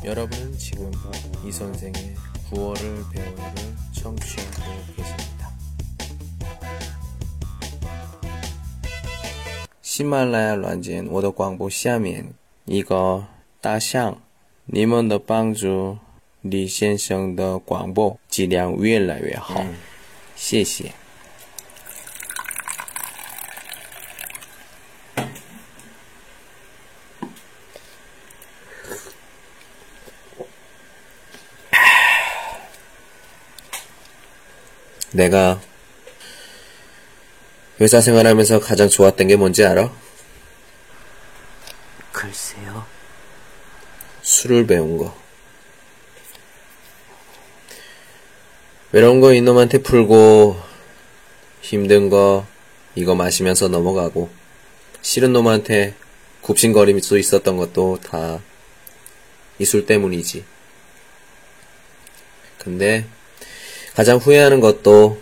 여러분은 지금 이 선생의 구어를 배우를 청취하고 계십니다. 喜马拉雅软件我的广播下面一个大象，你们的帮助李先生的广播质量越来越好，谢谢。 내가 회사 생활하면서 가장 좋았던 게 뭔지 알아? 글쎄요. 술을 배운 거. 외로운 거 이놈한테 풀고 힘든 거 이거 마시면서 넘어가고 싫은 놈한테 굽신거릴 수 있었던 것도 다 이 술 때문이지. 근데 가장 후회하는 것도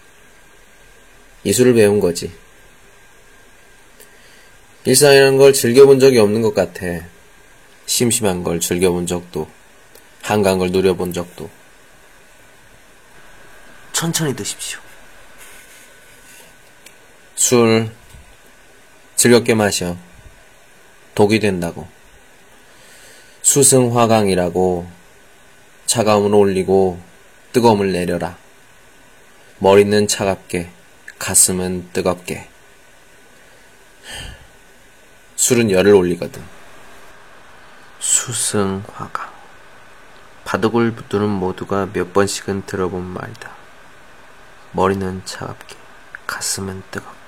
이 술을 배운 거지. 일상이라는 걸 즐겨본 적이 없는 것 같아. 심심한 걸 즐겨본 적도, 한가한 걸 누려본 적도. 천천히 드십시오. 술 즐겁게 마셔. 독이 된다고. 수승화강이라고. 차가움을 올리고 뜨거움을 내려라. 머리는 차갑게, 가슴은 뜨겁게. 술은 열을 올리거든. 수승화강. 바둑을 두는 모두가 몇 번씩은 들어본 말이다. 머리는 차갑게, 가슴은 뜨겁게.